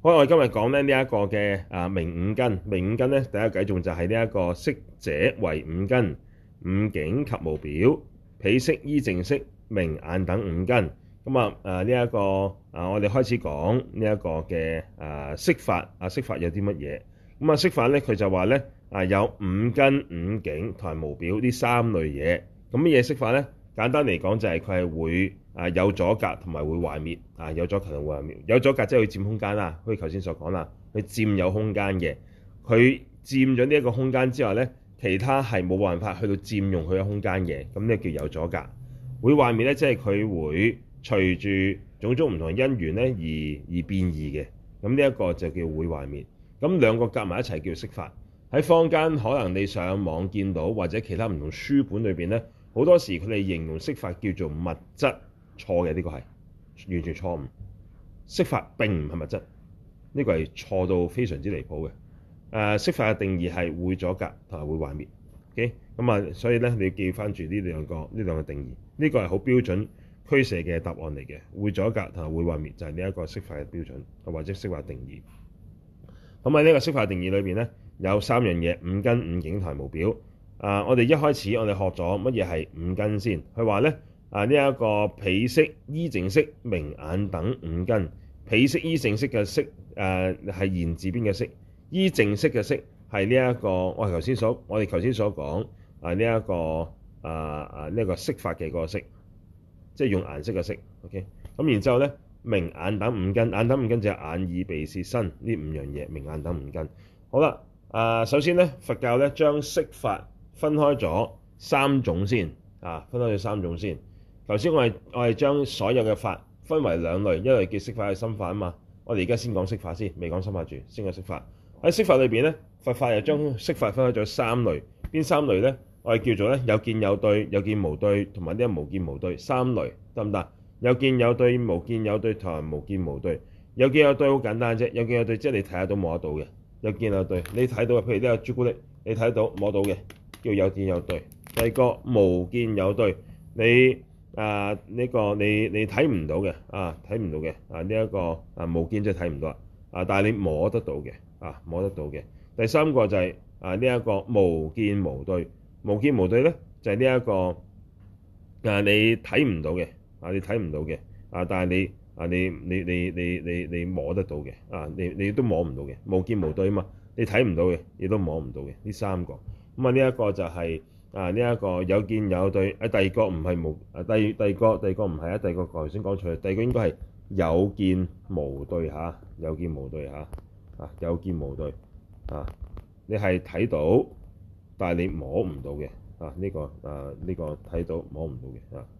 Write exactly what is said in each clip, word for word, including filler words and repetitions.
好，我哋今日講咧呢一個嘅啊明五根，明五根咧第一個計頌就係呢一個色者為五根，五境及無表，彼色依淨色名眼等五根。咁啊誒呢一個啊我哋開始講呢一個嘅啊色法啊色法有啲乜嘢？咁啊色法咧佢就話咧啊有五根、五境同埋無表呢三類嘢。咁乜嘢色法咧？簡單嚟講就係佢係會啊有阻隔同埋會壞滅啊，有阻隔同會壞滅。有阻隔即係佢佔空間啦，好似頭先所講啦，佢佔有空間嘅，佢佔咗呢一個空間之後咧，其他係冇辦法去到佔用佢嘅空間嘅，咁呢叫有阻隔。會壞滅咧，即係佢會隨住種種唔同嘅因緣咧而而變異嘅，咁呢一個就叫會壞滅。咁兩個夾埋一齊叫色法。喺坊間可能你上網見到或者其他唔同書本裏邊咧。好多時佢哋形容色法叫做物質，錯嘅，呢個係完全錯誤。色法並唔係物質，呢個係錯到非常之離譜嘅。誒，色法嘅定義係會阻隔同埋會壞滅。OK，咁啊，所以咧你要記翻住呢兩個呢兩個定義，呢個係好標準俱舍嘅答案嚟嘅。會阻隔同埋會壞滅就係呢一個色法嘅標準，或者色法定義。咁喺呢個色法定義裏邊咧，有三樣嘢：五根、五境同埋無表。啊！我哋一開始我哋學咗乜嘢係五根先？佢話咧啊，呢、這、一個彼色依淨色名眼等五根。彼色依淨色嘅色誒係言字邊嘅色，依淨色嘅色係呢一個我哋頭先所我哋頭先所講啊呢一、這個啊啊呢一、這個色法嘅嗰個色，即係用顏色嘅色。OK，咁然之後咧，名眼等五根，眼等五根就係眼耳鼻舌身呢五樣嘢，名眼等五根。好啦，啊首先咧佛教咧將色法分開咗三種先，啊，分開咗三種先。頭先我係我係將所有嘅法分為兩類，一類叫色法，係心法啊嘛。我哋而家先講色法先，未講心法住，先講色法。喺色法裏邊咧，佛法又將色法分開咗三類。邊三類咧？我哋叫做咧有見有對、有見無對同埋呢個無見無對三類，得唔得？有見有對、無見有對同埋無見無對。有見有對好簡單啫，有見有對即係你睇得到摸得到嘅。有見有對，你睇到嘅，譬如呢個朱古力，你睇得到摸到嘅。叫有見有對。第二個無見有對，你啊呢、這個你你睇唔到嘅啊，睇唔到嘅啊呢一、這個啊無見即係睇唔到啊，啊但係你摸得到嘅啊摸得到嘅。第三個就係、是、啊呢一、這個無見無對，無見無對咧就係呢一個啊你睇唔到嘅啊你睇唔到嘅啊但係你啊你你你你你你摸得到嘅啊你你都摸唔到嘅，無見無對啊嘛，你睇唔到嘅亦都摸唔到嘅，呢三個。咁啊，呢一個就係、是、啊，呢、這、一個有見有對。啊，第二個唔係無啊，第第二個第二個唔係啊，第二個頭先講錯，第二個應該係有見無對嚇、啊，有見無對嚇啊，有見無對啊，你係睇到，但係你摸唔到嘅啊，呢、這個啊呢、這個睇到摸唔到嘅啊。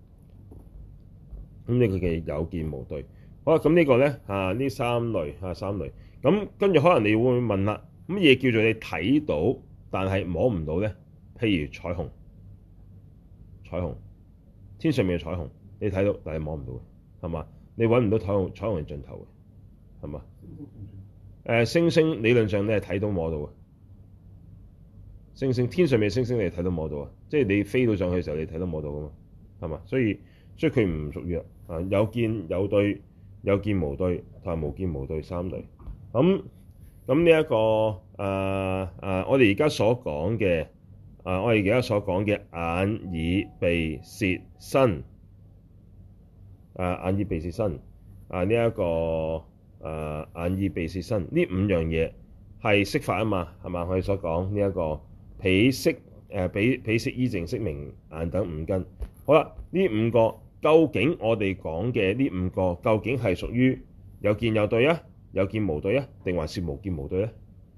咁呢個嘅有見無對。好啦，咁呢個咧啊，呢三類啊三類。咁跟住可能你會問啦，乜嘢叫做你睇到？但係摸唔到咧，譬如彩虹，彩虹，天上面嘅彩虹，你睇到，但係摸唔到嘅，係嘛？你揾唔到彩虹，彩虹嘅盡頭嘅，係嘛？誒，星星理論上你係睇到摸到嘅，星星天上面嘅星星你係睇到摸到啊，即係你飛到上去嘅時候你睇到摸到噶嘛，係嘛？所以所以佢唔屬於啊有見有對、有見無對同埋無見無對三類。咁咁呢一個誒誒、呃呃，我哋而家所講嘅誒，我哋而家所講嘅眼耳鼻舌身，誒、呃、眼耳鼻舌身啊呢一個誒、呃、眼耳鼻舌身呢五樣嘢係色法啊嘛，係嘛？我哋所講呢一個彼色誒彼彼色依淨色名眼等五根。好啦，呢五個究竟我哋講嘅呢五個究竟係屬於有見有對啊？有見無對啊，定還是無見無對咧？誒、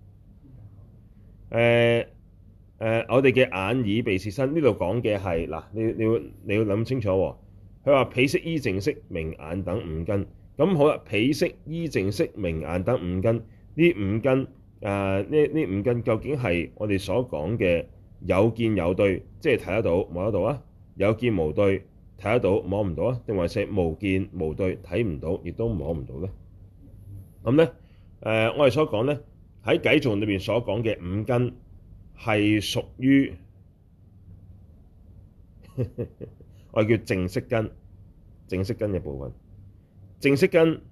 呃、誒、呃，我哋嘅眼耳鼻舌身呢度講嘅係嗱，你你要你要諗清楚喎。佢話彼色依淨色名眼等五根，咁好啦，彼色依淨色名眼等五根，呢五根誒呢呢五根究竟係我哋所講嘅有見有對，即係睇得到摸得到啊？有見無對，睇得到摸唔到啊？定還是無見無對，睇唔到亦都摸唔到咧？咁咧，誒、呃，我哋所講咧，喺偈頌裏邊所講嘅五根係屬於我哋叫淨色根，淨色根嘅部分。淨色根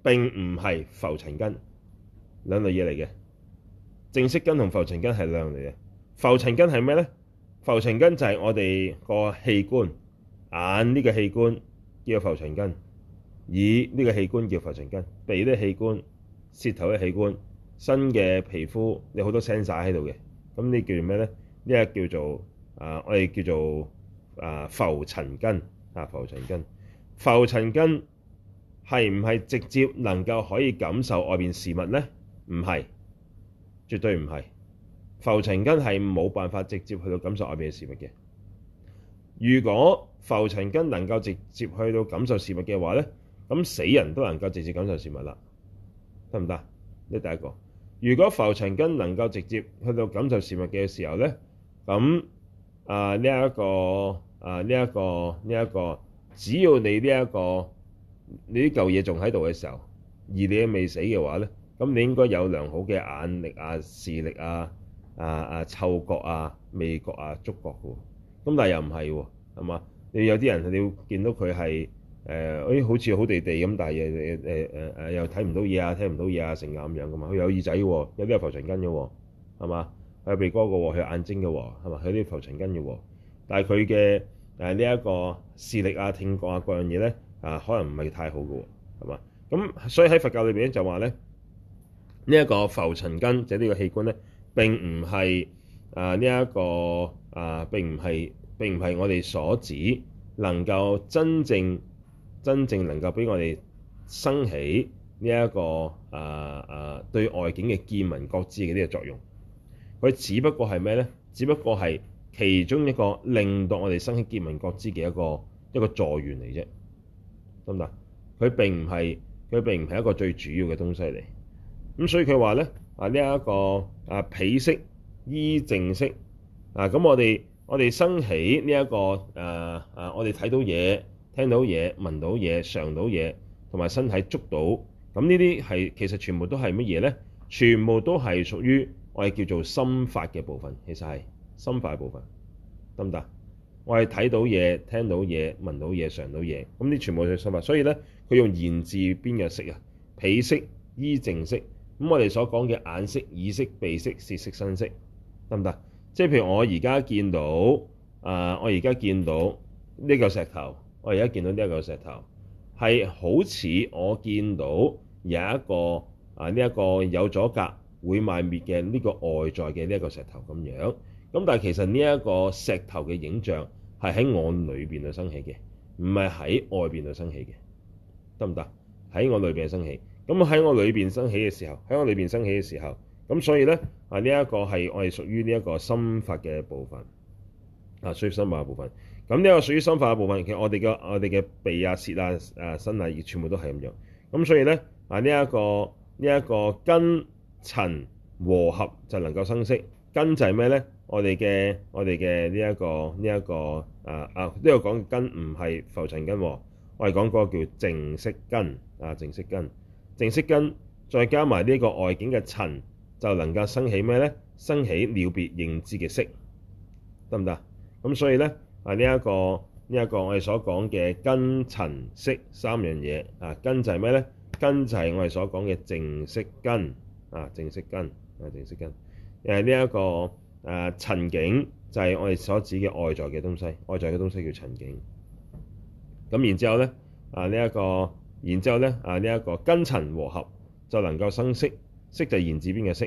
並唔係浮塵根，兩類嘢嚟嘅。淨色根同浮塵根係兩樣嚟嘅。浮塵根係咩咧？浮塵根就係我哋個器官，眼呢個器官叫浮塵根，耳呢個器官叫浮塵根，鼻呢個器官，舌頭嘅器官，身嘅皮膚有好多 sensor 喺度嘅。咁呢叫做咩咧？呢個叫做啊，我哋叫做啊浮塵根啊，浮塵根。浮塵根係唔係直接能夠可以感受外邊事物咧？唔係，絕對唔係。浮塵根係冇辦法直接去到感受外邊嘅事物嘅。如果浮塵根能夠直接去到感受事物嘅話咧，咁死人都能夠直接感受事物啦，得唔得？呢第一個。如果浮塵根能夠直接去到感受事物嘅時候咧，咁啊呢一個啊呢一個呢一個，只要你呢一個你呢嚿嘢仲喺度嘅時候，而你未死嘅話咧，咁你應該有良好嘅眼力啊、視力啊、啊啊嗅覺啊、味覺啊、觸覺嘅喎。咁但係又唔係喎，係嘛？你有啲人你要見到佢係誒，誒好似好地地咁，但係誒誒誒誒又睇唔到嘢啊，聽唔到嘢啊，成咁樣噶嘛。佢有耳仔嘅喎，有啲係浮塵根嘅喎，係嘛？佢有鼻哥嘅喎，佢有眼睛嘅喎，係嘛？佢有啲浮塵根嘅喎。但係佢嘅誒呢一個視力啊、聽覺啊各樣嘢咧啊，可能唔係太好嘅喎，係嘛？咁所以喺佛教裏邊咧就話咧，呢一個浮塵根即係呢個器官咧，並唔係啊呢一個啊並唔係並唔係我哋所指能夠真正真正能夠俾我哋生起呢一個啊啊對外境嘅見聞覺知嘅呢個作用。佢只不過係咩咧？只不過係其中一個令到我哋生起見聞覺知嘅一個一個助緣嚟啫，得唔得？佢並唔係佢並唔係一個最主要嘅東西嚟。咁所以佢話咧啊呢一個啊彼色依淨色啊，咁我哋我哋生起呢一個誒誒，我哋睇到嘢、聽到嘢、聞到嘢、嘗到嘢，同埋身體觸到，咁呢啲係其實全部都係乜嘢咧？全部都係屬於我哋叫做心法嘅部分，其實係心法嘅部分，得唔得？我係睇到嘢、聽到嘢、聞到嘢、嘗到嘢，咁呢全部都係心法。所以咧，佢用言字邊嘅色啊，彼色依淨色。咁我哋所講嘅眼色、耳色、鼻色、舌色、身色，得唔得？即係譬如我而家見到啊、呃，我而家見到呢嚿石頭，我而家見到呢一嚿石頭，係好似我見到有一個啊呢一個有阻隔會賣滅嘅呢個外在嘅呢一個石頭咁樣。咁但係其實呢一個石頭嘅影像係喺我裏邊度生起嘅，唔係喺外邊度生起嘅，得唔得？喺我裏邊生起。咁喺我裏邊生起嘅時候，喺我裏邊生起嘅時候，咁所以咧啊呢一個係我哋屬於呢一個心法嘅部分啊，屬於心法嘅部分。咁呢個屬於心法嘅部分，其實我哋嘅我哋嘅鼻啊、舌啊、誒身啊，全部都係咁樣。咁所以咧啊呢一個呢一個根塵和合就能夠生色。根就係咩咧？我哋嘅我哋嘅呢一個呢一個啊啊呢個講根唔係浮塵根喎，我哋講嗰個叫淨色根啊，淨色根。淨色根再加埋呢個外境嘅塵，就能夠生起咩咧？生起了別認知嘅色，得唔得？咁所以咧啊呢一個呢一個我哋所講嘅根塵色三樣嘢啊，根就係咩咧？根就係我哋所講嘅淨色根啊，淨色根啊，淨色根。誒呢一個誒塵境就係我哋所指嘅外在嘅東西，外在嘅東西叫塵境。咁然之後咧啊呢一個。然之後咧，啊呢一個根塵和合就能夠生色，色就係言字邊嘅色。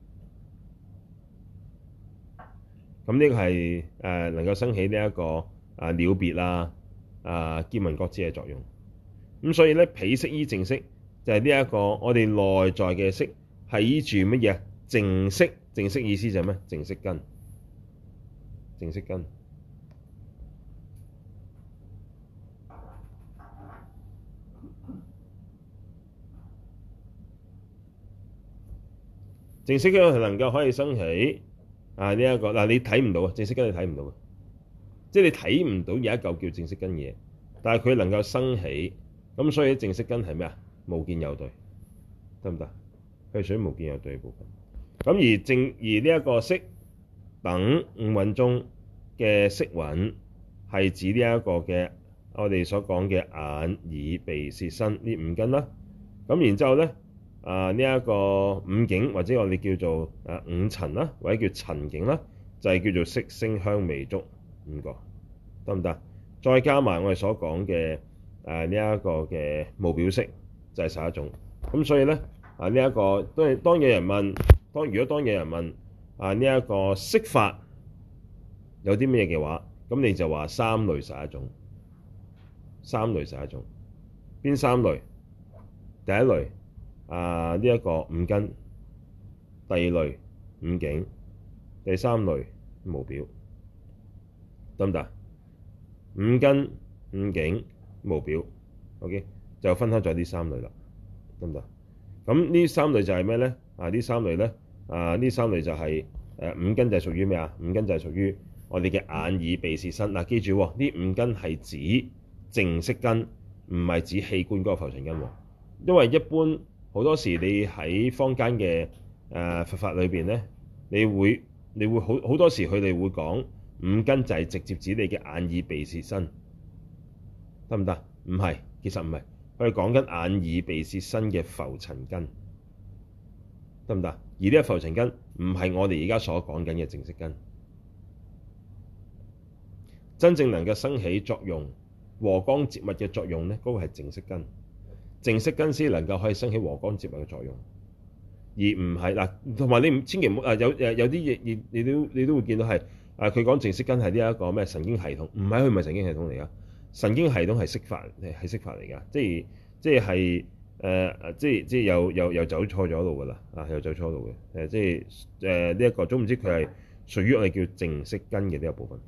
咁呢個係誒能夠生起呢一個啊了別啊啊見聞覺知嘅作用。咁所以咧，彼色依淨色就係呢一個我哋內在嘅色係依住乜嘢？淨色，淨色意思就係咩？淨色根，淨色根。淨色根係能夠可以生起啊呢一個嗱，你睇唔到啊，淨色根你睇唔到嘅，即係你睇唔到有一嚿叫淨色根嘢，但係佢能夠生起，咁所以淨色根係咩啊？無見有對，得唔得？佢係屬於無見有對嘅部分。咁而淨而呢一個色等五蘊中嘅色蘊係指呢一個嘅我哋所講嘅眼、耳、鼻、舌、身呢五根啦。 咁然之後咧，啊呢一個五境或者我哋叫做誒五塵啦，或者叫塵境啦，就係、是、叫做色聲香味觸五個，得唔得？再加埋我哋所講嘅誒呢一個嘅無表色，就係十一種。咁所以咧啊呢一個當當有人問，當如果當有人問啊呢一個色法有啲咩嘅話，咁你就話三類十一種，三類十一種，邊三類？第一類啊呢一個五根，第二類五境，第三類無表，得唔得？五根、五境、無表 ，OK， 就分開咗呢三類啦，得唔得？咁呢三類就係咩咧？啊，呢三類咧，啊呢三類就係、是、誒五根就係屬於咩啊？五根就係屬於我哋嘅眼耳鼻舌身。嗱、啊，記住喎，呢五根係指淨色根，唔係指器官嗰個浮塵根喎。因為一般好多時你喺坊間嘅誒佛法裏邊咧，你會你會好好多時佢哋會講五根就係直接指你嘅眼耳鼻舌身，得唔得？唔係，其實唔係，佢係講緊眼耳鼻舌身嘅浮塵根，得唔得？而呢個浮塵根唔係我哋而家所講緊嘅淨色根，真正能夠生起作用和光接物嘅作用咧，嗰、那個係淨色根。淨色根先能夠可以生起和光接物嘅作用，而唔係嗱，同埋你唔千祈唔好啊！有誒有啲嘢，你你都你都會見到係啊，佢講淨色根係呢一個咩神經系統，唔係，佢唔係神經系統嚟噶，神經系統係色法，係色法嚟噶，即係即係係誒即係即係又又又走錯咗路噶啦啊，又走錯路嘅誒，即係誒呢一個總唔知佢係屬於我哋叫淨色根嘅呢一部分。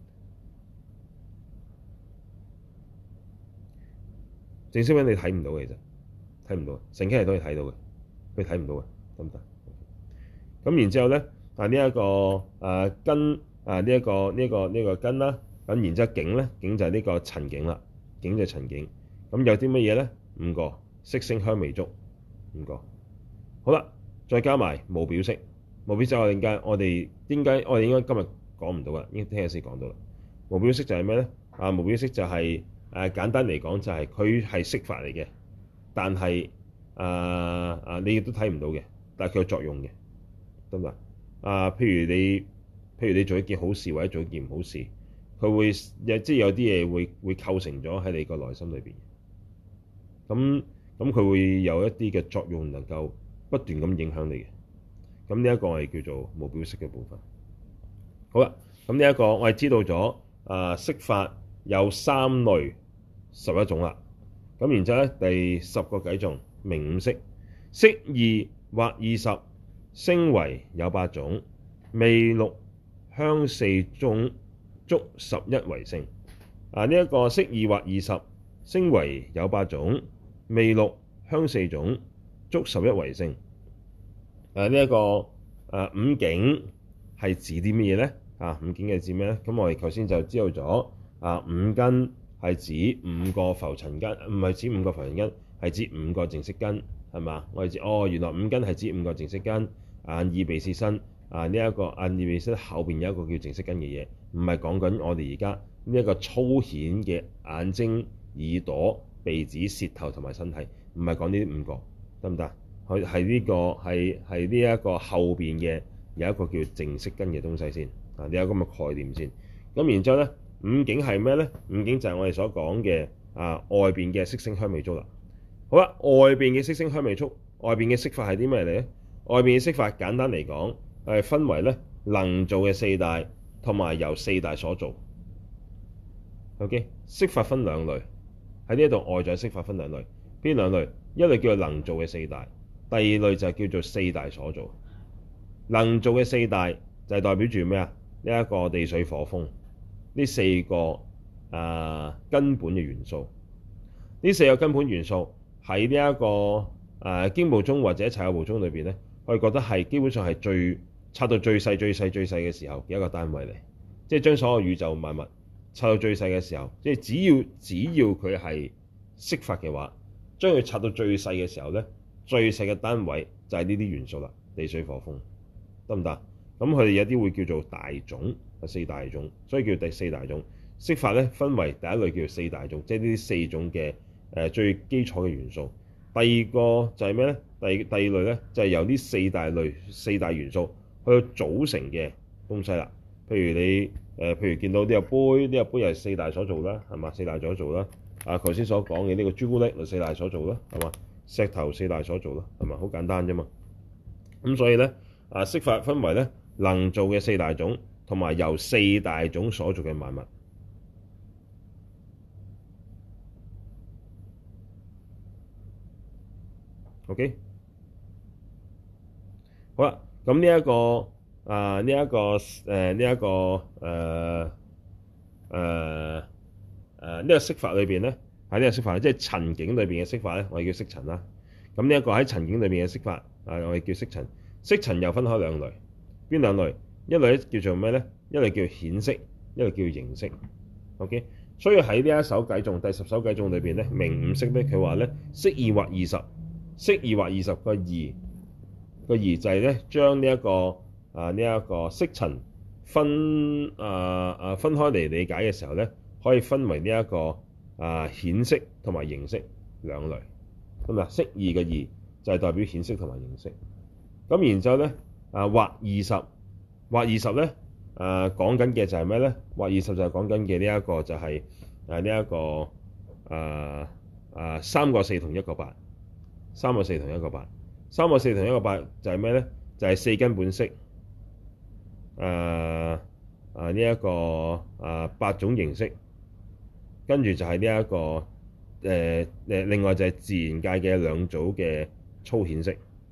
淨色根你睇唔到嘅，其實。睇唔到，神經系統係睇到嘅，佢睇唔到嘅，得唔得？咁然之後咧，啊呢一個誒根啊呢一個呢一個呢個根啦，咁然之後境咧，境就係呢個塵境啦，境就係塵境。咁有啲乜嘢咧？五個色聲香味觸五個。好啦，再加埋無表色，無表色我哋點解我哋點解我哋應該今日講唔到啊？應該聽日先講到啦。無表色就係咩咧？啊無表色就係、是、誒、啊、簡單嚟講就係佢係色法嚟嘅。但係啊啊，你亦都睇唔到嘅，但係佢有作用嘅，得唔得啊？譬如你，譬如你做一件好事或者做一件唔好事，佢會有即係有啲嘢會會構成咗喺你個內心裏邊。咁咁佢會有一啲嘅作用，能夠不斷咁影響你嘅。咁呢一個係叫做無表色嘅部分。好啦，咁呢一個我係知道咗啊，色法有三類十一種啦。咁然之後咧，第十個偈頌名五色，色二或二十，聲為有八種，味六香四種，觸十一為性。啊，呢、這、一個色二或二十，聲為有八種，味六香四種，觸十一為性。啊，呢、這、一個啊五境係指啲乜嘢咧？啊，五境係指咩咧？咁我哋頭先就知道咗啊，五根。係指五個浮塵根，唔係指五個浮塵根，係指五個淨色根，係嘛？我哋知哦，原來五根係指五個淨色根，眼耳鼻舌身啊，呢一個眼耳鼻舌身後邊有一個叫淨色根嘅嘢，唔係講緊我哋而家呢一個粗顯嘅眼睛、耳朵、鼻子、舌頭同埋身體，唔係講呢啲五個，得唔得？佢係呢個係係呢一個後邊嘅有一個叫淨色根嘅東西先啊，你有咁嘅概念先。咁然之後咧。五境係咩咧？五境就係我哋所講嘅啊外邊嘅色聲香味觸啦。好啦，外邊嘅色聲香味觸，外邊嘅色法係啲咩嚟咧？外邊嘅色法簡單嚟講係分為咧能造嘅四大，同埋由四大所造。OK， 色法分兩類，喺呢一度外在色法分兩類，邊兩類？一類叫做能造嘅四大，第二類就係叫做四大所造。能造嘅四大就係代表住咩啊？呢、這、一個地水火風。呢四個啊根本嘅元素，呢四個根本元素喺呢一個啊經部宗或者齊有部宗裏邊咧，我哋覺得係基本上係最拆到最細、最細、最細嘅時候嘅一個單位嚟，即係將所有宇宙萬物拆到最細嘅時候，即係只要只要佢係色法嘅話，將佢拆到最細嘅時候咧，最細嘅單位就係呢啲元素啦，地水火風，得唔得？咁佢哋有啲會叫做大種。四大種，所以叫第四大種。色法咧分為第一類叫做四大種，即係呢啲四種嘅誒最基礎嘅元素。 第二個就係咩咧？第二第二類咧就係由呢四大類四大元素去組成嘅東西啦。譬如你誒、呃，譬如見到呢個杯，呢個杯又係四大所做啦，係嘛？四大所做啦。啊，頭先所講嘅呢個朱古力就四大所做啦，係嘛？石頭四大所做啦，係嘛？好簡單啫嘛。咁所以咧，啊，色法分為咧能做嘅四大種，同埋由四大種所做嘅萬物。OK，好啦，咁呢一個啊，呢一個誒，呢一個誒誒誒呢個色法裏邊咧，喺呢個色法，即係塵境裏邊嘅色法咧，我哋叫色塵啦。咁呢一個喺塵境裏邊嘅色法，啊，我哋叫色塵。色塵又分開兩類，邊兩類？一類咧叫做咩咧？一類叫顯色，一類叫形色。OK，所以喺呢一首偈頌第十首偈頌裏邊咧，名五色咧，佢話咧色二或二十。色二或二十個二個二就係咧，將呢一個啊呢一個色塵分啊啊分開嚟理解嘅時候咧，可以分為呢一個啊顯色同埋形色兩類。咁啊，色二個二就係代表顯色同埋形色。咁然之後咧啊或二十或二十咧啊講緊嘅就係咩咧？或二十就係講緊嘅呢一個就係啊呢一個啊啊三個四同一個八。三個四同一個八，三個四同一個八就係咩咧？就係、是、四根本色，誒誒呢一個誒、呃、八種形色，跟住就係呢一個誒誒、呃，另外就係自然界嘅兩組嘅粗顯色，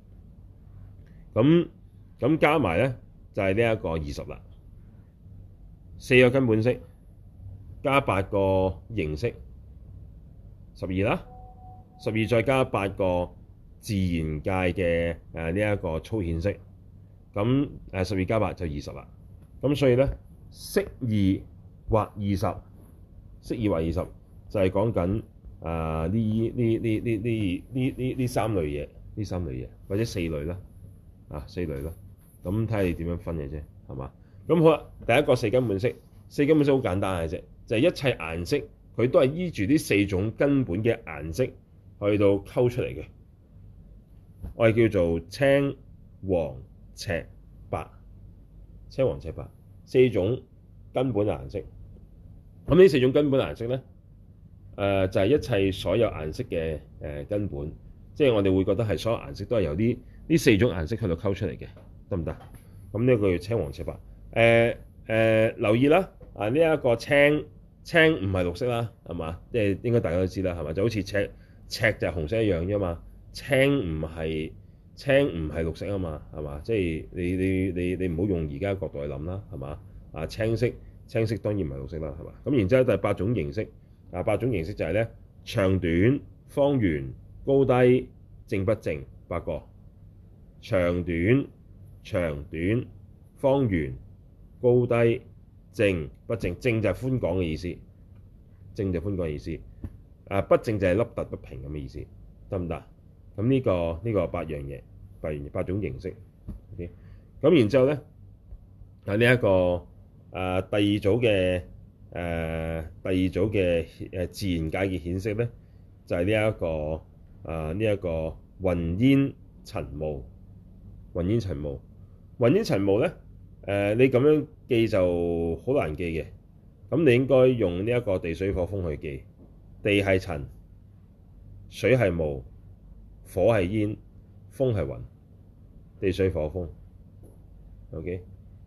咁咁加埋咧就係呢一個二十啦，四個根本色加八個形色，十二啦。十二再加八個自然界嘅誒呢一個粗顯色，咁誒十二加八就二十啦。咁所以咧，色二或二十，色二或二十就係講緊啊呢呢呢呢呢呢呢呢三類嘢，呢三類嘢或者四類啦，啊四類啦。咁睇下你點樣分嘅啫，係嘛？咁好啦，第一個四根本色，四根本色好簡單嘅啫，就係、是、一切顏色佢都係依住呢四種根本嘅顏色去到溝出嚟嘅，我哋叫做青、黃、赤、白。青、黃、赤、白四種根本嘅顏色。咁呢四種根本顏色咧，誒、呃、就係、是、一切所有顏色嘅誒根本，即係我哋會覺得係所有顏色都係由呢呢四種顏色去到溝出嚟嘅，得唔得？咁呢個叫青、黃、赤、白。誒、呃、誒、呃，留意啦，啊呢一、這個青青唔係綠色啦，係嘛？即係應該大家都知啦，係嘛？就好似赤。赤就係紅色一樣啫嘛，青唔係青唔係綠色啊嘛，係嘛？即係你你你你唔好用而家嘅角度去諗啦，係嘛？啊青色青色當然唔係綠色啦，係嘛？咁然之後第八種形色，啊八種形色就係咧長短、方圓、高低、正不正八個。長短、長短、方圓、高低、正不正，正就係寬廣嘅意思，正就係寬廣嘅意思。啊，不正就係凹凸不平咁嘅意思，得唔得？咁呢、這個呢、這個八樣嘢，八樣八種形色。OK，咁然之後咧，喺呢一個啊第二組嘅誒、啊、第二組嘅誒自然界嘅顯色咧，就係呢一個啊呢一、這個雲煙塵霧。雲煙塵霧，雲煙塵霧咧，誒、呃、你咁樣記就好難記嘅，咁你應該用呢一個地水火風去記。地係塵，水係霧，火係煙，風係雲，地水火風。OK，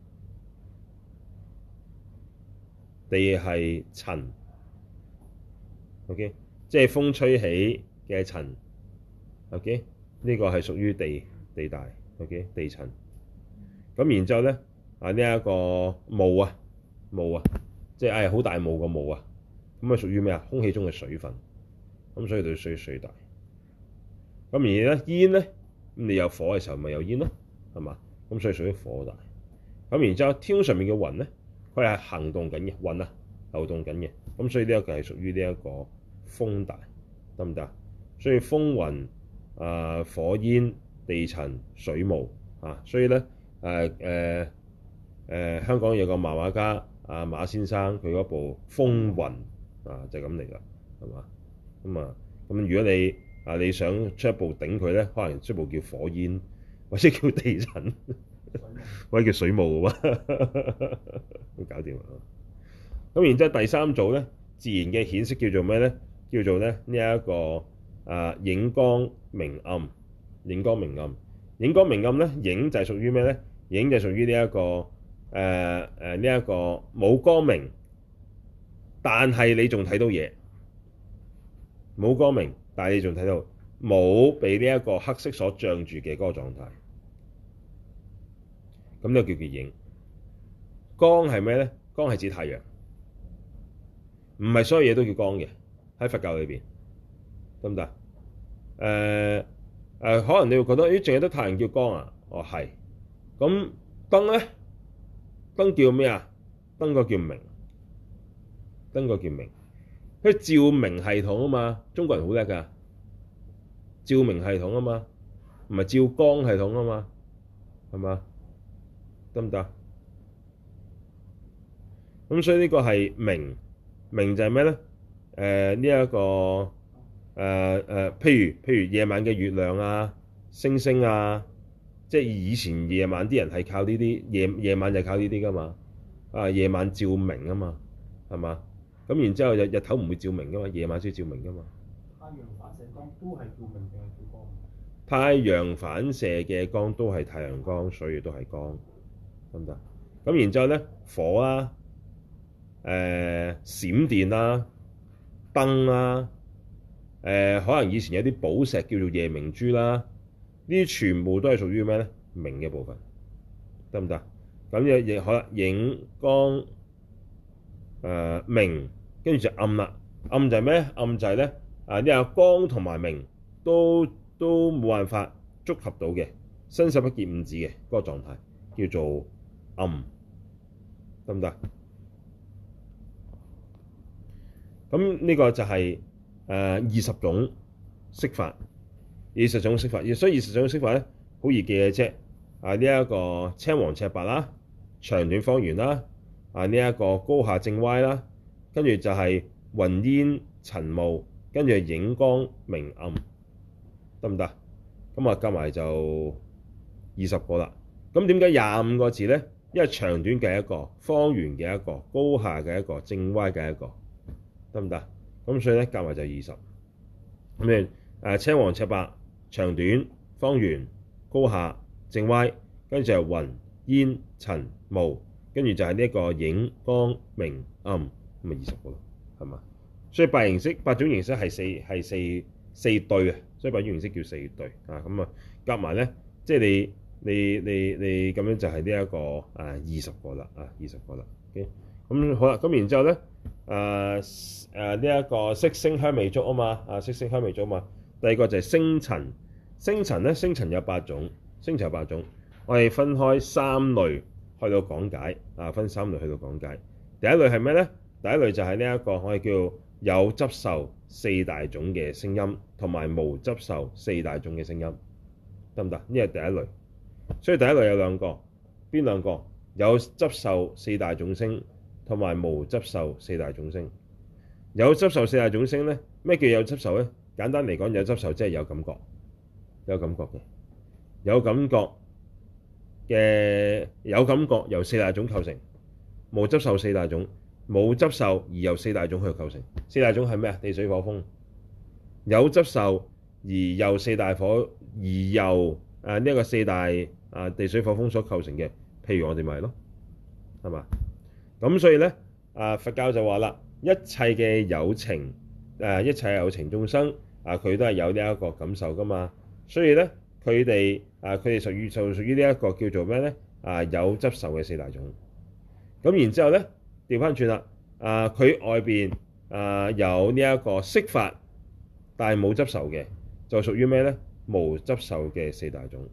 地係塵。OK，即係風吹起嘅塵。OK，呢個係屬於地地大。OK，地塵。咁然之後咧，啊呢一個霧啊霧啊，即係唉好大霧個霧啊。咁啊屬於咩啊？空氣中嘅水分，咁所以對水水大。咁而咧煙咧，咁你有火嘅時候咪有煙咯，係嘛？咁所以屬於火大。咁然之後天空上面嘅雲咧，佢係行動緊嘅雲啊，流動緊嘅。咁所以呢一個係屬於呢一個風大，得唔得？所以風雲啊、呃、火煙地塵水霧啊，所以咧誒誒誒香港有個漫畫家啊馬先生，佢嗰部風雲。啊，就係咁嚟㗎，係嘛？咁啊，咁如果你啊，你想出一步頂佢咧，可能出一步叫火煙，或者叫地震，或者叫水霧嘅喎，都搞掂啦。咁然之後第三組咧，自然嘅顯色叫做咩咧？叫做咧呢一個啊影光明暗，影光明暗，影光明暗咧，影就係屬於咩咧？影就係屬於呢一個誒誒呢一個冇光明，但係你仲睇到嘢，冇光明，但係你仲睇到冇被呢一個黑色所障住嘅嗰個狀態，咁就叫做影。光係咩咧？光係指太陽，唔係所有嘢都叫光嘅，喺佛教裏邊，得唔得？誒、呃、誒、呃，可能你會覺得，咦，淨係得太陽叫光啊？哦，係。咁燈咧，燈叫咩啊？燈個叫明，燈個叫明。佢照明系統啊嘛，中國人好叻㗎，照明系統啊嘛，唔係照光系統啊嘛，係嘛？得唔得？咁所以呢個係明，明就係咩咧？誒呢一個誒誒、呃呃，譬如譬如夜晚嘅月亮啊、星星啊，即係以前夜晚啲人係靠呢啲夜夜晚就係靠呢啲㗎嘛，啊夜晚照明啊嘛，係嘛？咁然之後日日頭唔會照明㗎嘛，夜晚先照明㗎嘛。 太陽反射光都係照明定係照光？ 太陽反射嘅光都係太陽光，所以都係光，得唔得？咁然之後咧，火啦、啊。誒、呃、閃電啦、燈啦，誒、呃、可能以前有啲寶石叫做夜明珠啦，呢啲全部都係屬於咩咧？明嘅部分，得唔得？咁亦亦可能影光誒、呃、明，跟住就暗啦。暗就係咩？暗就係咧啊！呢個光同埋明都都冇辦法觸及到嘅，伸手不見五指嘅嗰個狀態，叫做暗，得唔得？咁呢個就係誒二十種色法，二十種色法，所以二十種色法咧好易記嘅啫。啊呢一、這個青黃赤白啦，長短方圓啦，啊呢一、這個高下正歪啦，跟住就係雲煙塵霧，跟住影光明暗，得唔得？咁啊加埋就二十個啦。咁點解廿五個字咧？因為長短嘅一個，方圓嘅一個，高下嘅一個，正歪嘅一個。得唔得？咁所以咧，夾埋就二十。咁你誒青黃赤白、長短、方圓、高下、正歪，跟住就係雲煙塵霧，跟住就係呢一個影光明暗，咁咪二十個咯，係嘛？所以八形色八種形色係四係四四對啊，所以八種形色叫四對啊。咁啊夾埋咧，即係你你你你咁樣就係呢一個啊二十個啦啊二十個啦。OK，咁好啦，咁然之後咧。誒誒呢一個色聲香味觸啊嘛，啊色聲香味觸啊嘛。第二個就係聲塵，聲塵咧，聲塵有八種，聲塵有八種，我哋分開三類去到講解，啊分三類去到講解。第一類係咩咧？第一類就係呢一個我哋叫有執受四大種嘅聲音，同埋無執受四大種嘅聲音，得唔得？呢係第一類。所以第一類有兩個，邊兩個？有執受四大種聲。同埋無執受四大種聲。有執受四大種聲咧，咩叫有執受咧？簡單嚟講，有執受即係有感覺，有感覺嘅，有感覺嘅有感覺由四大種構成。無執受四大種，冇執受而由四大種去構成。四大種係咩啊？地水火風。有執受而由四大火而由誒呢一個四大啊地水火風所構成嘅，譬如我哋咪係咯，係嘛？咁所以咧，啊佛教就話啦，一切嘅有情，誒一切有情眾生，啊佢都係有呢一個感受噶嘛。所以咧，佢哋啊佢哋屬於就屬於呢一個叫做咩咧？啊有執受嘅四大種。咁然之後咧，調翻轉啦，啊佢外邊啊有呢一個色法，但係冇執受嘅，就屬於咩咧？無執受嘅四大種。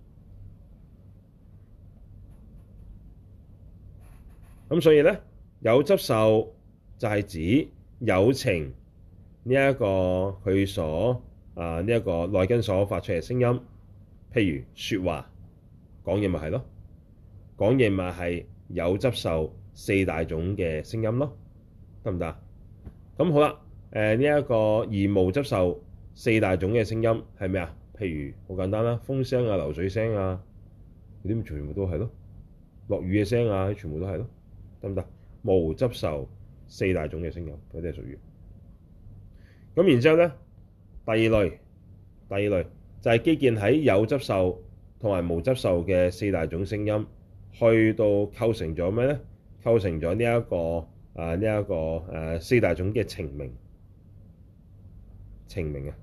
咁所以咧，有執受就係指有情呢一個佢所啊呢一個內根所發出嘅聲音，譬如説話講嘢咪係咯，講嘢咪係有執受四大種嘅聲音咯，得唔得？咁好啦，誒呢一個而無執受四大種嘅聲音係咩啊？譬如好簡單啦，風聲啊、流水聲啊，嗰啲全部都係咯。落雨嘅聲啊，全部都係咯，得唔得？無執受四大種嘅聲音，嗰啲係屬於。咁然之後咧，第二類，第二類就係基建喺有執受同埋無執受嘅四大種聲音，去到構成咗咩咧？構成咗呢一個啊呢一個誒、啊、四大種嘅情名，情名啊，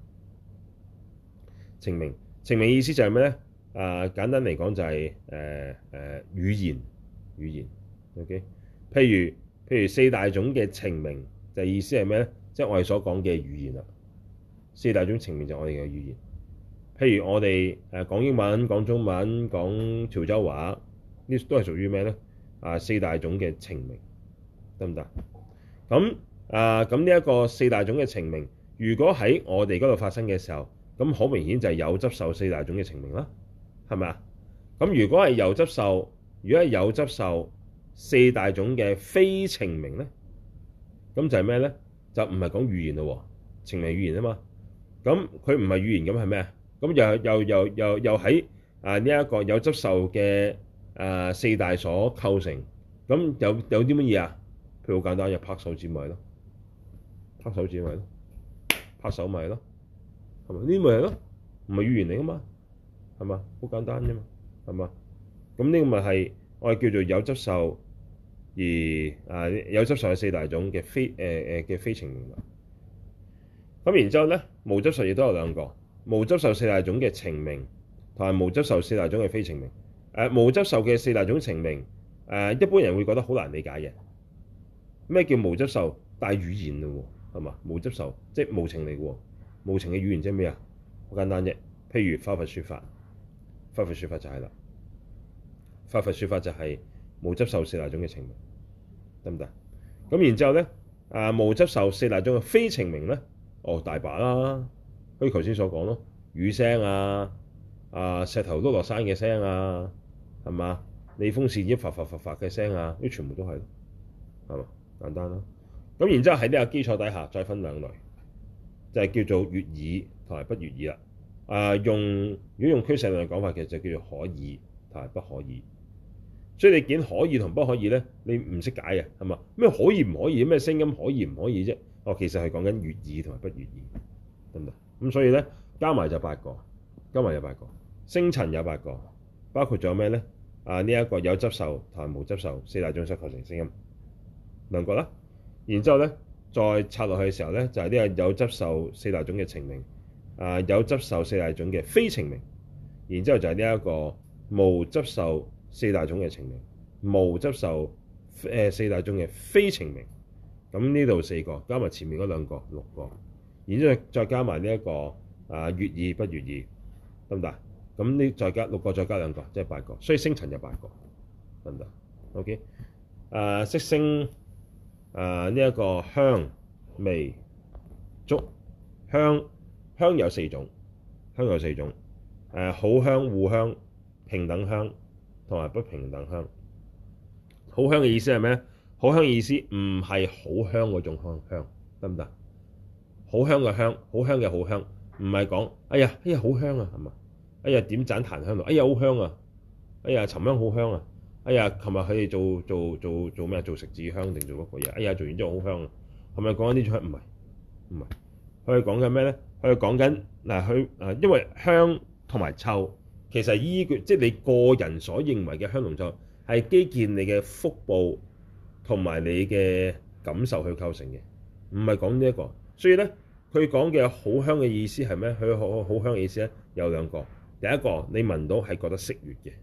情名，情名意思就係咩咧？啊，簡單嚟講就係誒誒語言，語言，OK。譬如譬如四大種嘅情名，就意思係咩咧？即係我哋所講嘅語言啦。四大種情名就係我哋嘅語言。譬如我哋誒講英文、講中文、講潮州話，呢都係屬於咩咧？啊，四大種嘅情名，得唔得？咁啊，咁呢一個四大種嘅情名，如果喺我哋嗰度發生嘅時候，咁好明顯就係有執受四大種嘅情名啦。係咪啊？咁如果係有執受，如果係有執受四大種嘅非情名咧，咁就係咩咧？就唔係講語言咯，情名語言啊嘛。咁佢唔係語言，咁係咩啊？咁又又又又又喺啊呢一個有執受嘅啊四大所構成，咁有有啲乜嘢啊？譬如好簡單，有拍手指咪咯，拍手指咪咯，拍手咪咯，係咪？呢啲咪係咯，唔係語言嚟噶嘛？係嘛？好簡單啫嘛，係嘛？咁呢個咪係我哋叫做有執受而啊有執受嘅四大種嘅非誒誒嘅非情名啦。咁然之後咧，無執受亦都有兩個，無執受四大種嘅情名同埋無執受四大種嘅非情名。誒、呃、無執受嘅四大種情名，誒、呃、一般人會覺得好難理解嘅。咩叫無執受帶語言嘞喎？係嘛？無執受即係無情嚟嘅喎，無情嘅語言即係咩啊？好簡單啫，譬如化佛說法。化佛說法就係啦，化佛說法就係無執受四大種嘅情名，得唔得？咁然之後咧，啊無執受四大種嘅非情名咧，哦大把啦，好似頭先所講咯，雨聲啊，啊石頭碌落山嘅聲啊，係嘛？利風扇一發發發發嘅聲啊，呢全部都係咯，係嘛？簡單啦。咁然之後喺呢個基礎底下再分兩類，就係、是、叫做悅耳同埋不悅耳啦。啊，用如果用俱舍論嘅講法，其實就叫做可耳同埋不可耳。所以你見可耳同不可耳咧，你唔識解嘅係嘛？咩可以唔可以？咩聲音可以唔可以啫？哦，其實係講緊悅耳同埋不悅耳，得唔得？咁所以咧加埋就八個，加埋有八個，聲塵有八個，包括咗咩咧？啊呢一、這個有執受同埋無執受四大種所構成聲音兩個啦。然之後咧再拆落去嘅時候咧，就係、是、呢個有執受四大種嘅情名。啊，有執受四大種嘅非情名，然之後就係呢一個無執受四大種嘅情名，無執受誒、呃、四大種嘅非情名。咁呢度四個加埋前面嗰兩個六個，然之後再加埋呢一個啊悅耳不悅耳，得唔得？咁呢再加六個再加兩個，即係八個，所以聲塵有八個，得唔得 ？OK，啊色聲啊呢一個香味觸香。香有四種，香有四種，誒、呃、好香、互香、平等香同埋不平等香。好香嘅意思係咩？好香嘅意思唔係好香嗰種香香，得唔得？好香嘅香，好香嘅好香，唔係講哎呀哎呀好香啊，係嘛？哎呀點盞檀香爐，哎呀好香啊，哎呀沉香好香啊，哎呀琴日佢哋做做做做咩？做食指香定做乜鬼嘢？哎呀做完之後好香啊，係咪講緊呢種香？唔係唔係，佢係講緊咩咧？佢講緊嗱，佢誒，因為香同埋臭其實依據即係你個人所認為嘅香同臭，係基建你嘅腹部同埋你嘅感受去構成嘅，唔係講呢一個。所以咧，佢講嘅好香嘅意思係咩？佢好好香嘅意思咧有兩個。第一個，你聞到係覺得適悅嘅，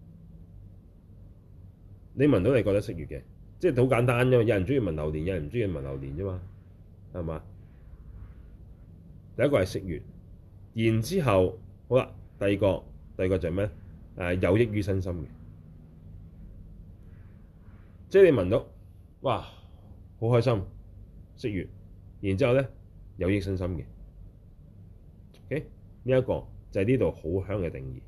你聞到係覺得適悅嘅，即係好簡單啫嘛。有人中意聞榴蓮，有人唔中意聞榴蓮啫嘛，係嘛？第一個係適悅，然之後好啦，第二個第二個就係咩？誒有益於身心嘅，即係你聞到哇好開心適悅，然之後咧有益身心嘅。OK，呢一個就係呢度好香嘅定義。誒、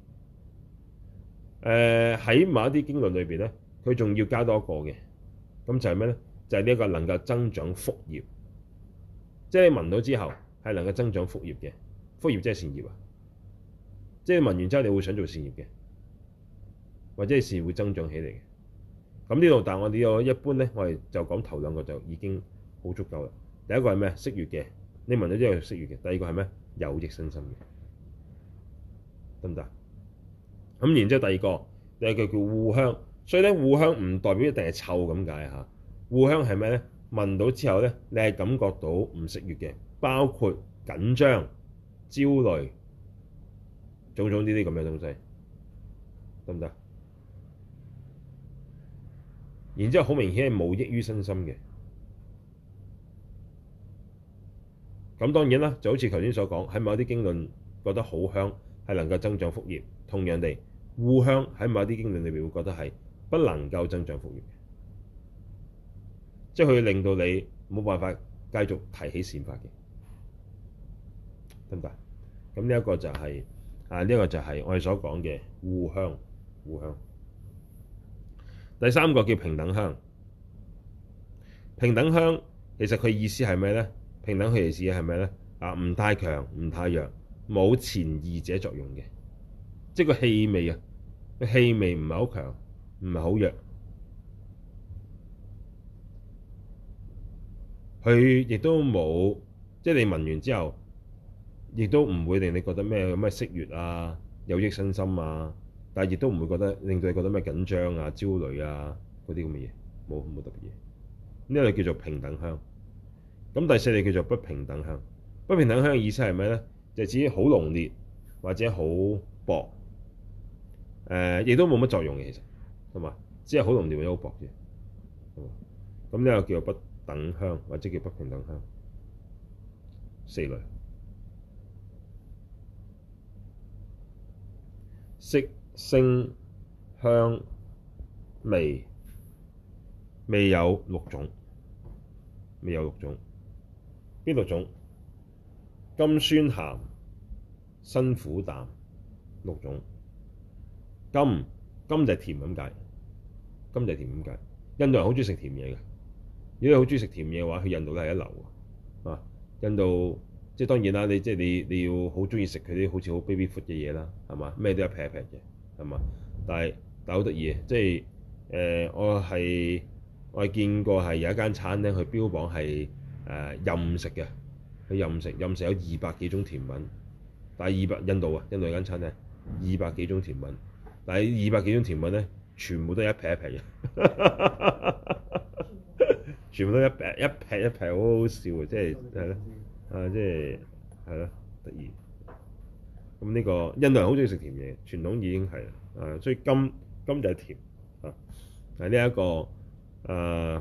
呃、喺某一啲經論裏邊咧，佢仲要加多一個嘅，咁就係咩咧？就係呢一個能夠增長福業，即係你聞到之後。係能夠增長福業嘅， 福業即係善業啊！即係聞完之後，你會想做善業嘅，或者係善業會增長起嚟嘅。咁呢度，但係我哋呢個一般咧，我哋就講頭兩個就已經好足夠啦。第一個係咩？色悅嘅，你聞咗之後色悅嘅。第二個係咩？有益身心嘅，得唔得？咁然之後第二個，第二個叫惡香。所以咧，惡香唔代表一定係臭咁解嚇。惡香係咩咧？聞到之後咧，你係感覺到唔色悅嘅，包括緊張、焦慮、種種呢啲咁嘅東西，得唔得？然之後好明顯係冇益於身心嘅。咁當然啦，就好似頭先所講，喺某啲經論覺得好香係能夠增長福業，同樣地，惡香喺某啲經論裏邊會覺得係不能夠增長福業嘅，即係佢會令到你冇辦法繼續提起善法嘅，得唔得？咁呢一個就係、是、啊，呢、這、一個就係我哋所講嘅惡香，惡香。第三個叫平等香，平等香其實佢意思係咩咧？平等佢意思係咩咧？啊，唔太強，唔太弱，冇前二者作用嘅，即係個氣味啊，個氣味唔係好強，唔係好弱，佢亦都冇，即係你聞完之後，亦都唔會令你覺得咩咩色悅啊，有益身心啊。但係亦都唔會覺得令到你覺得咩緊張啊、焦慮啊嗰啲咁嘅嘢，冇冇特別嘢。呢個叫做平等香。咁第四類叫做不平等香。不平等香嘅意思係咩咧？就係指好濃烈或者好薄，誒、呃，亦都冇乜作用嘅，其實係嘛？只係好濃烈或者好薄啫。咁呢個叫做不等香，或者叫不平等香。四類色聲香味，味有六種，味有六種，邊六種？甘酸鹹辛苦淡，六種。甘甘就係甜咁解，甘就係甜咁解。印度人好中意食甜嘢嘅，如果你好中意食甜嘢嘅話，去印度都係一流啊！印度即係當然啦，你即係你你要好中意食佢啲好似好 baby food 嘅嘢啦，係嘛？咩都一劈一劈嘅，係嘛？但係但係好得意嘅，即係誒、呃、我係我係見過係有一間餐廳，佢標榜係誒、呃、任食嘅，佢任食任食有二百幾種甜品，但係二百印度啊，印度有間餐廳二百幾種甜品，但係二百幾種甜品咧，全部都係一劈一劈嘅，全部都一劈一劈一劈，好好笑嘅，即係係咯。啊，即係係咯，得意。咁呢個印度人好中意食甜嘢，傳統已經係啦。啊，所以甘甘就係甜啊。係呢一個啊，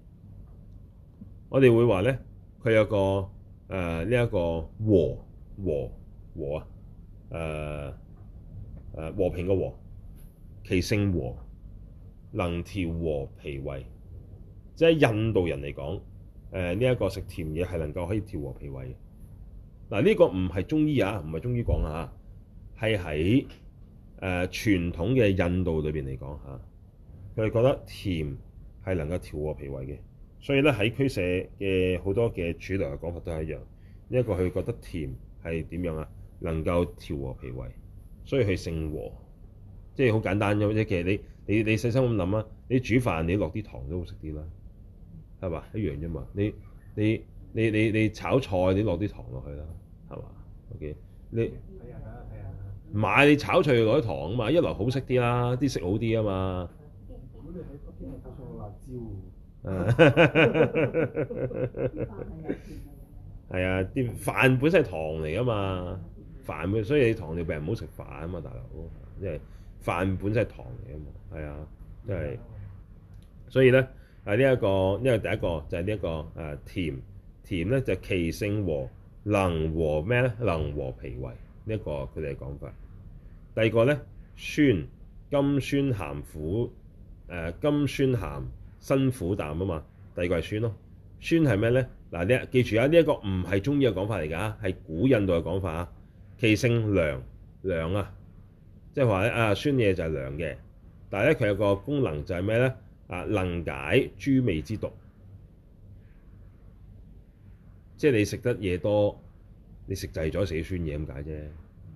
我哋會話咧，佢有個誒呢一個和和和啊，誒誒和平嘅和，其性和，能調和脾胃。即係印度人嚟講。誒呢一個食甜嘢係能夠可以調和脾胃嘅。嗱，呢個唔係中醫啊，唔係中醫講啊，係喺誒傳統嘅印度裏邊嚟講嚇，佢哋覺得甜係能夠調和脾胃嘅，所以咧喺俱舍嘅好多嘅主流嘅講法都係一樣。呢一個佢覺得甜係點樣啊？能夠調和脾胃，所以佢性和，即係好簡單啫。其實你你你細心咁諗啊，你煮飯你落啲糖都好食啲啦。係嘛，一樣啫嘛？你你你你你炒菜你落啲糖落去啦，係嘛 ？OK， 你唔係你炒菜要落啲糖啊嘛，一來好食啲啦，啲色好啲啊嘛。 如果你喺北京係加上辣椒， 係啊，啲飯本身係糖嚟噶嘛，飯本所以你糖尿病唔好食飯啊嘛，大佬，因為飯本身係糖嚟啊嘛，係啊，即係所以咧。啊！呢、這、一個呢個第一個就係呢一個誒、啊、甜甜咧，就其性和，能和咩咧？能和脾胃，呢、這、一個佢哋嘅講法。第二個咧，酸甘酸鹹苦誒、呃、甘酸鹹辛苦淡啊嘛。第二個係酸咯，酸係咩咧？嗱，你記住啊，呢、這、一個唔係中醫嘅講法嚟㗎，係古印度嘅講法啊。其性涼涼啊，即係話咧啊，酸嘢就係涼嘅，但係咧佢有個功能就係咩咧？啊，能解諸味之毒，即係你食得嘢多， 你食滯咗食啲酸嘢咁解啫，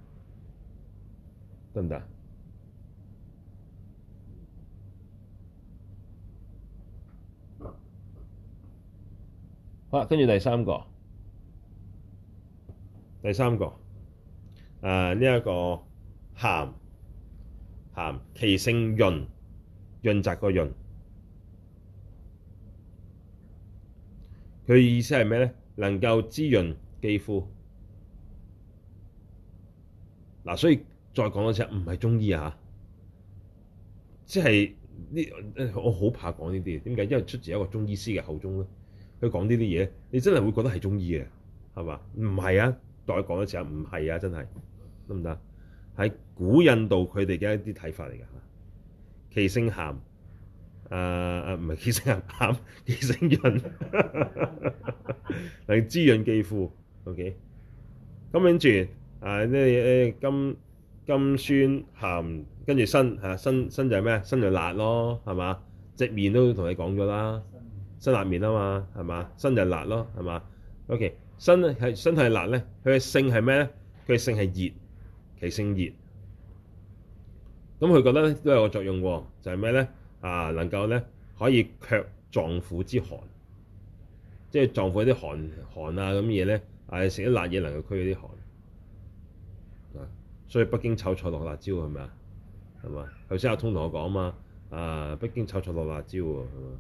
得唔得？好啦，跟住第三個，第三個誒呢一個鹹鹹，其性潤，潤澤個潤。佢意思係咩咧？能夠滋潤肌膚。嗱、啊，所以再講多次，唔係中醫啊，即係呢，我好怕講呢啲。點解？因為出自一個中醫師嘅口中咧，佢講呢啲嘢，你真係會覺得係中醫嘅，係嘛？唔係啊，再講多次啊，唔係啊，真係得唔得？喺古印度佢哋嘅一啲睇法嚟㗎。其性鹹。誒誒唔係其性鹹，其性潤，能滋潤肌膚。OK，咁跟住誒呢誒甘甘酸鹹，跟住辛嚇辛辛就係咩？辛就辣咯，係嘛？隻麵都同你講咗啦，辛辣麵啊嘛，係嘛？辛就辣咯，係嘛 ？OK， 辛係辛係辣咧，佢嘅性係咩咧？佢嘅性係熱，其性熱。咁佢覺得咧都有個作用喎，就係咩咧？啊，能夠咧可以卻臟腑之寒，即係臟腑啲寒寒啊咁嘢咧，啊食啲辣嘢能夠驅嗰啲寒啊，所以北京炒菜落辣椒係咪啊？係嘛？頭先阿通同我講啊嘛，啊北京炒菜落辣椒喎，係嘛？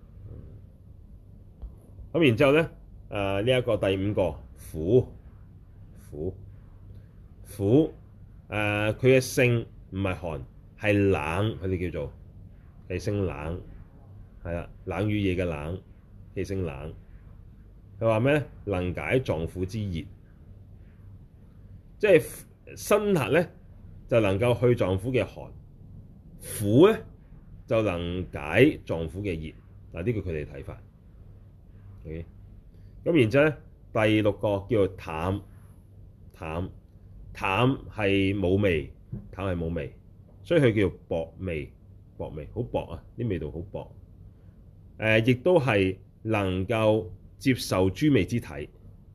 咁然之後咧，誒呢一個第五個苦苦苦誒，佢嘅性唔係寒，係冷，佢哋叫做。其性冷，係啦，冷雨夜嘅冷，其性冷。佢話咩咧？能解臟腑之熱，即係辛辣咧就能夠去臟腑嘅寒，苦咧就能解臟腑嘅熱。嗱，呢個佢哋睇法。OK，咁然之後咧，第六個叫做淡，淡淡係冇味，淡係冇味，所以佢叫薄味。薄味好薄啊，啲味道好薄。誒、呃，亦都係能夠接受諸味之體，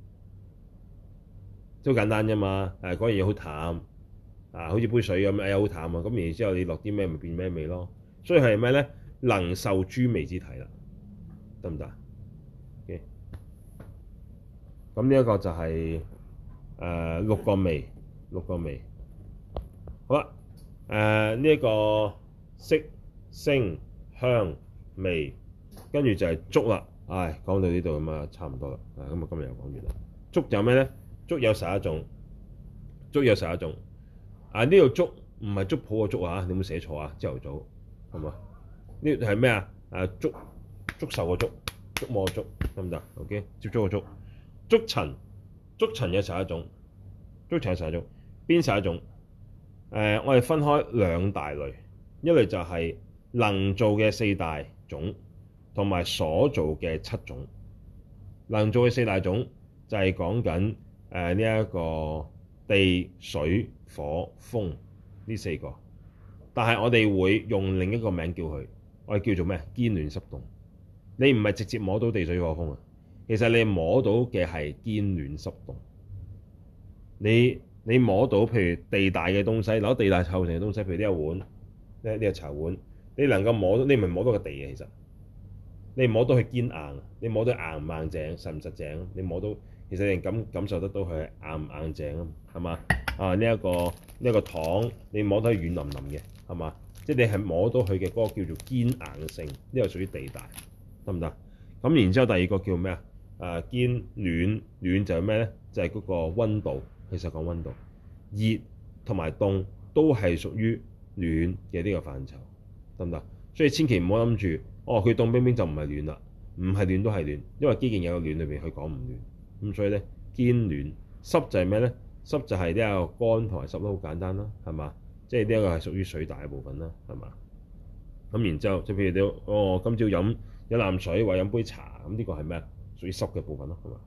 都簡單啫嘛。誒、啊，嗰樣嘢好淡啊，好似杯水咁，誒好淡啊。咁然之後你落啲咩咪變咩味咯。所以係咩咧？能受諸味之體啦，得唔得？OK，咁呢一個就係、是、誒、呃、六個味，六個味。好啦，誒呢一個。色、聲、香、味，跟住就係觸啦。唉，講到呢度咁啊，差唔多啦。啊，咁啊，今日又講完啦。觸有咩咧？觸有十一種，觸有十一種。啊，呢度觸唔係觸譜個觸啊，你有冇寫錯啊？朝頭早係嘛？呢係咩啊？啊，觸觸受個觸，觸摸個觸，得唔得 ？OK， 接觸個觸。觸塵，觸塵有十一種，觸塵有十一種。邊十一種？誒、呃，我哋分開兩大類。一類就係能造嘅四大種，同埋所造嘅七種。能造嘅四大種就係講緊誒呢一個地、水、火、風呢四個，但係我哋會用另一個名叫佢，我哋叫做咩？堅暖濕凍。你唔係直接摸到地、水、火、風啊，其實你摸到嘅係堅暖濕凍。你你摸到譬如地大嘅東西，攞地大構成嘅東西，譬如呢個碗。呢呢個茶碗，你能夠摸到，你唔係摸到個地嘅，其實你摸到佢堅硬，你摸到硬唔硬淨，實唔實淨，你摸到，其實你感感受得到佢係硬唔硬淨啊，係嘛？啊呢一個呢一個糖，你摸到係軟腍腍嘅，係嘛？即係你係摸到佢嘅嗰個叫做堅硬性，呢個屬於地大，得唔得？咁然之後第二個叫咩啊？啊堅暖，暖就係咩咧？就係嗰個溫度，其實講溫度，熱同埋凍都係屬於暖嘅呢個範疇，得唔得？所以千祈唔好諗住，哦佢凍冰冰就唔係暖啦，唔係暖都係暖，因為基建有個暖裏邊佢講唔暖，咁所以咧堅暖。濕就係咩咧？濕就係呢一個乾同埋濕都好簡單啦，係嘛？即係呢一個係屬於水大嘅部分啦，係嘛？咁然之後，即係譬如你哦今朝飲一啖水或飲杯茶，咁呢個係咩啊？屬於濕嘅部分咯，係嘛？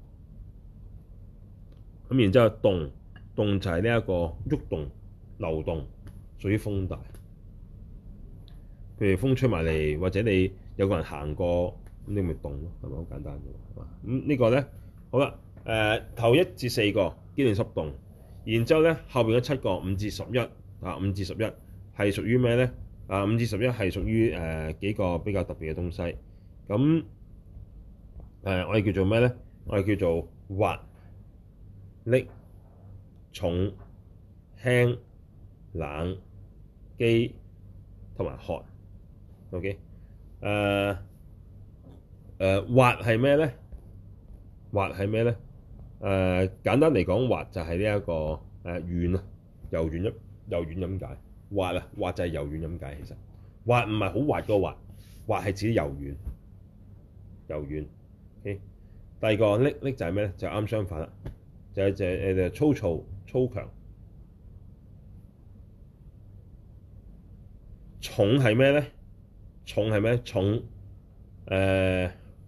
咁然之後動，動就係呢一個喐動、流動。屬於風大，譬如風吹埋嚟，或者你有個人行過，咁你咪動咯，係咪好簡單嘅？係嘛？咁呢個咧，好啦， 誒頭一至四個機電濕動，然之後咧後邊嗰七個五至十一啊，五至十一係屬於咩咧？啊，五至十一係屬於誒、呃、幾個比較特別嘅東西。咁誒、呃、我哋叫做咩咧？我哋叫做滑、溺、重、輕、冷、機同埋渴。OK，誒誒滑係咩咧？滑係咩咧？誒、呃、簡單嚟講，滑就係呢一個誒、呃、軟啊，柔軟一柔軟咁解。滑啊，滑就係柔軟咁解。其實滑唔係好滑嗰個滑，滑係指柔軟，柔軟。OK，第二個溺溺就係咩咧？就啱相反啦，就係就係誒粗糙粗強。重係咩咧？重係咩？重誒、呃、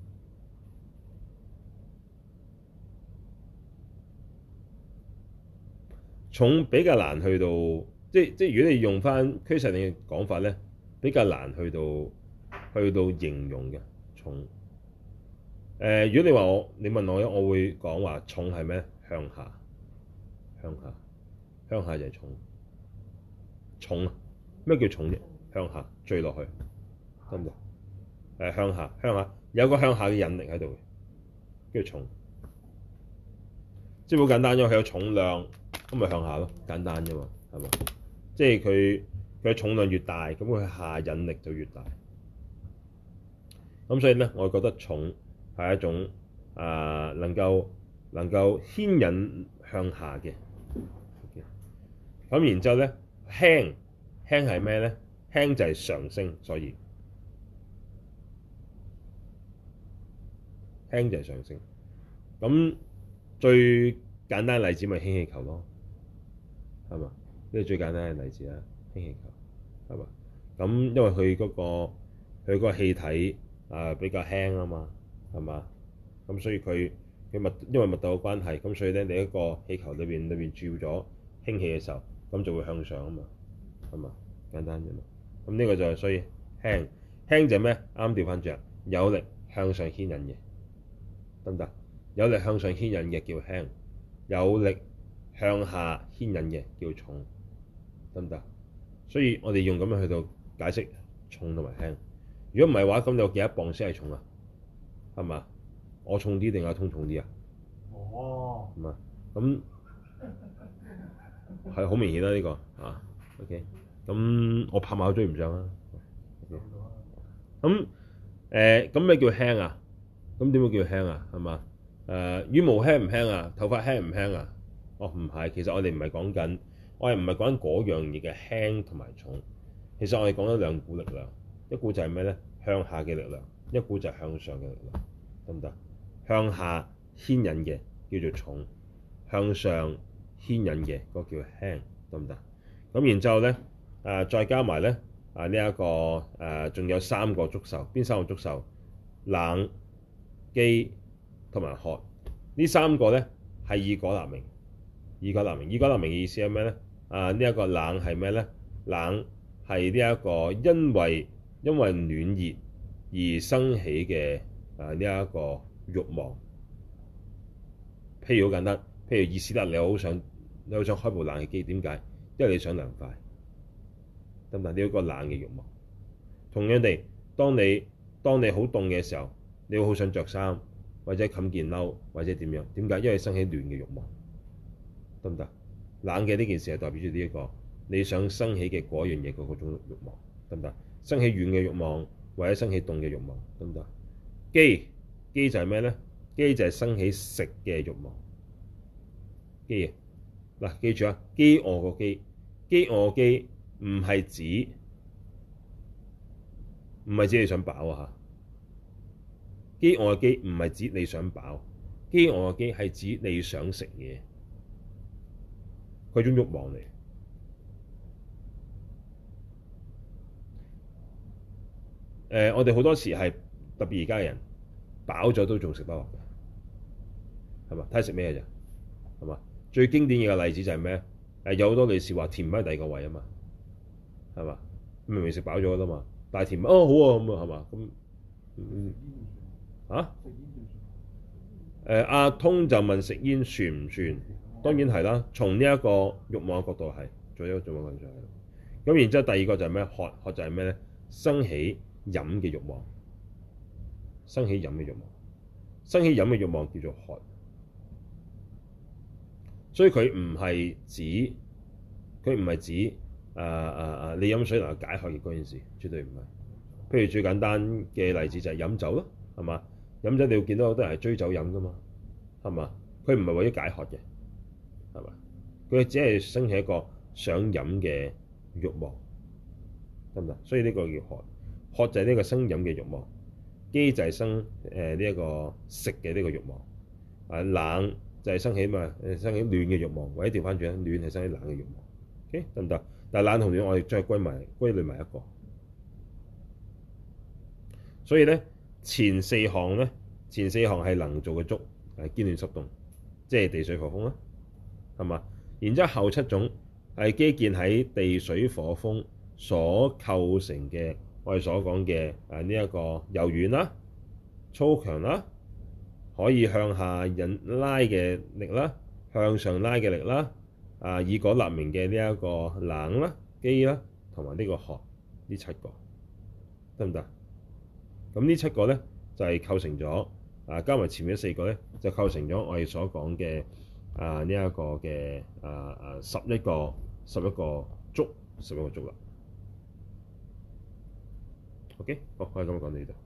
重比較難去到，即即如果你用翻俱舍論嘅講法咧，比較難去到去到形容嘅重。誒、呃，如果你話我，你問我咧，我會講話重係咩？向下，向下，向下就係重。重啊，咩叫重啫？向下墜落去，得唔得？誒，向下，向下有個向下嘅引力喺度嘅，叫重。即係好簡單啫，佢有重量，咁咪向下咯，簡單啫嘛，係嘛？即係佢佢重量越大，咁佢下引力就越大。咁所以咧，我覺得重係一種啊、呃，能夠能夠牽引向下嘅。咁然之後咧，輕輕係咩咧？輕就係上升，所以輕就係上升。咁最簡單嘅例子咪氫氣球咯，係嘛？呢個最簡單嘅例子啦，氫氣球係嘛？咁因為佢嗰個佢嗰個氣體啊比較輕啊嘛，係嘛？咁所以佢佢密因為密度嘅關係，咁所以咧你一個氣球裏邊裏邊注咗氫氣嘅時候，咁就會向上啊嘛，係嘛？簡單啫嘛。咁呢個就係所以輕輕就係咩？啱調翻轉，有力向上牽引嘅，得唔得？有力向上牽引嘅叫輕，有力向下牽引嘅叫重，得唔得？所以我哋用咁樣去到解釋重同埋輕。如果唔係話，咁有幾多磅先係重啊？係嘛？我重啲定阿通重啲啊？哦，係嘛？咁係好明顯啦，呢個啊 ，OK。咁我拍馬都追唔上啦。咁誒咁咩叫輕啊？咁點會叫輕啊？係嘛？誒、呃、羽毛輕唔輕啊？頭髮輕唔輕啊？哦，唔係，其實我哋唔係講緊，我係唔係講緊嗰樣嘢嘅輕同埋重。其實我哋講咗兩股力量，一股就係咩咧？向下嘅力量，一股就係向上嘅力量，得唔得？向下牽引嘅叫做重，向上牽引嘅嗰個叫輕，得唔得？咁然之後咧，誒、呃、再加埋咧啊呢一、這個誒，仲、呃、有三個觸受，邊三個觸受？冷、機同埋渴。呢三個咧係以果立名，以果立名，以果立名嘅意思係咩咧？啊呢一個冷係咩咧？冷係呢一個因為因為暖熱而生起嘅啊呢一個慾望。譬如好簡單，譬如意思啦，你好想你好想開部冷氣機，點解？因為你想涼快，得唔得？你有個冷嘅慾望。同樣地，當你當你好凍嘅時候，你會好想着衫，或者冚件褸，或者點樣？點解？因為生起暖嘅慾望，得唔得？冷嘅呢件事係代表住呢一個你想生起嘅嗰樣嘢嗰嗰種慾望，得唔得？生起軟嘅慾望，或者生起凍嘅慾望，得唔得？機機就係咩咧？機就係生起食嘅慾望。機啊，嗱，記住啊，飢餓個飢，飢餓個飢唔係指唔係指你想飽啊嚇。飢餓個飢唔係指你想飽，飢餓個飢係指你想食嘢，佢種慾望嚟。誒、呃，我哋好多時係特別而家嘅人飽咗都仲食不落嘅，係嘛？睇下食咩啫，係嘛？最經典嘅例子就係咩？誒，有好多女士話填唔喺第二個位啊嘛，係嘛？明明食飽咗啦嘛，但係填哦好啊咁啊係嘛？咁嗯啊誒阿通就問食煙算唔算？當然係啦，從呢一個慾望嘅角度係，做一個做一個角度係。咁然之後第二個就係咩？渴渴就係咩咧？生起飲嘅慾望，生起飲嘅慾望，生起飲嘅慾望叫做渴。所以佢唔係指，佢唔係指誒誒誒你飲水能夠解渴嘅嗰件事，絕對唔係。譬如最簡單嘅例子就係飲酒咯，係嘛？飲酒你會見到好多人係追酒飲噶嘛，係嘛？佢唔係為咗解渴嘅，係嘛？佢只係生起一個想飲嘅慾望，得唔得？所以呢個叫渴，渴就係呢個生飲嘅慾望，飢就係生誒呢一個食嘅呢個慾望，啊冷就係生起嘛誒生起暖嘅慾望，或者調翻轉咧，暖係生起冷嘅慾望，OK 得唔得？但係冷同暖我哋將佢歸埋歸類埋一個，所以咧前四項咧，前四項係能做嘅觸，係堅暖濕凍，即係地水火風啦，係嘛？然之後後七種係基建喺地水火風所構成嘅，我哋所講嘅誒呢一個柔軟啦、粗強啦。可以向下引拉嘅力啦，向上拉嘅力啦，啊以果立名嘅呢一個冷啦、機啦，同埋呢個渴，呢七個得唔得？咁呢七個咧就係、是、構成咗啊，加埋前面四個咧就構成咗我哋所講嘅啊呢一個嘅啊啊十一個十一個觸，十一個觸啦。OK，好，可以咁講到呢度。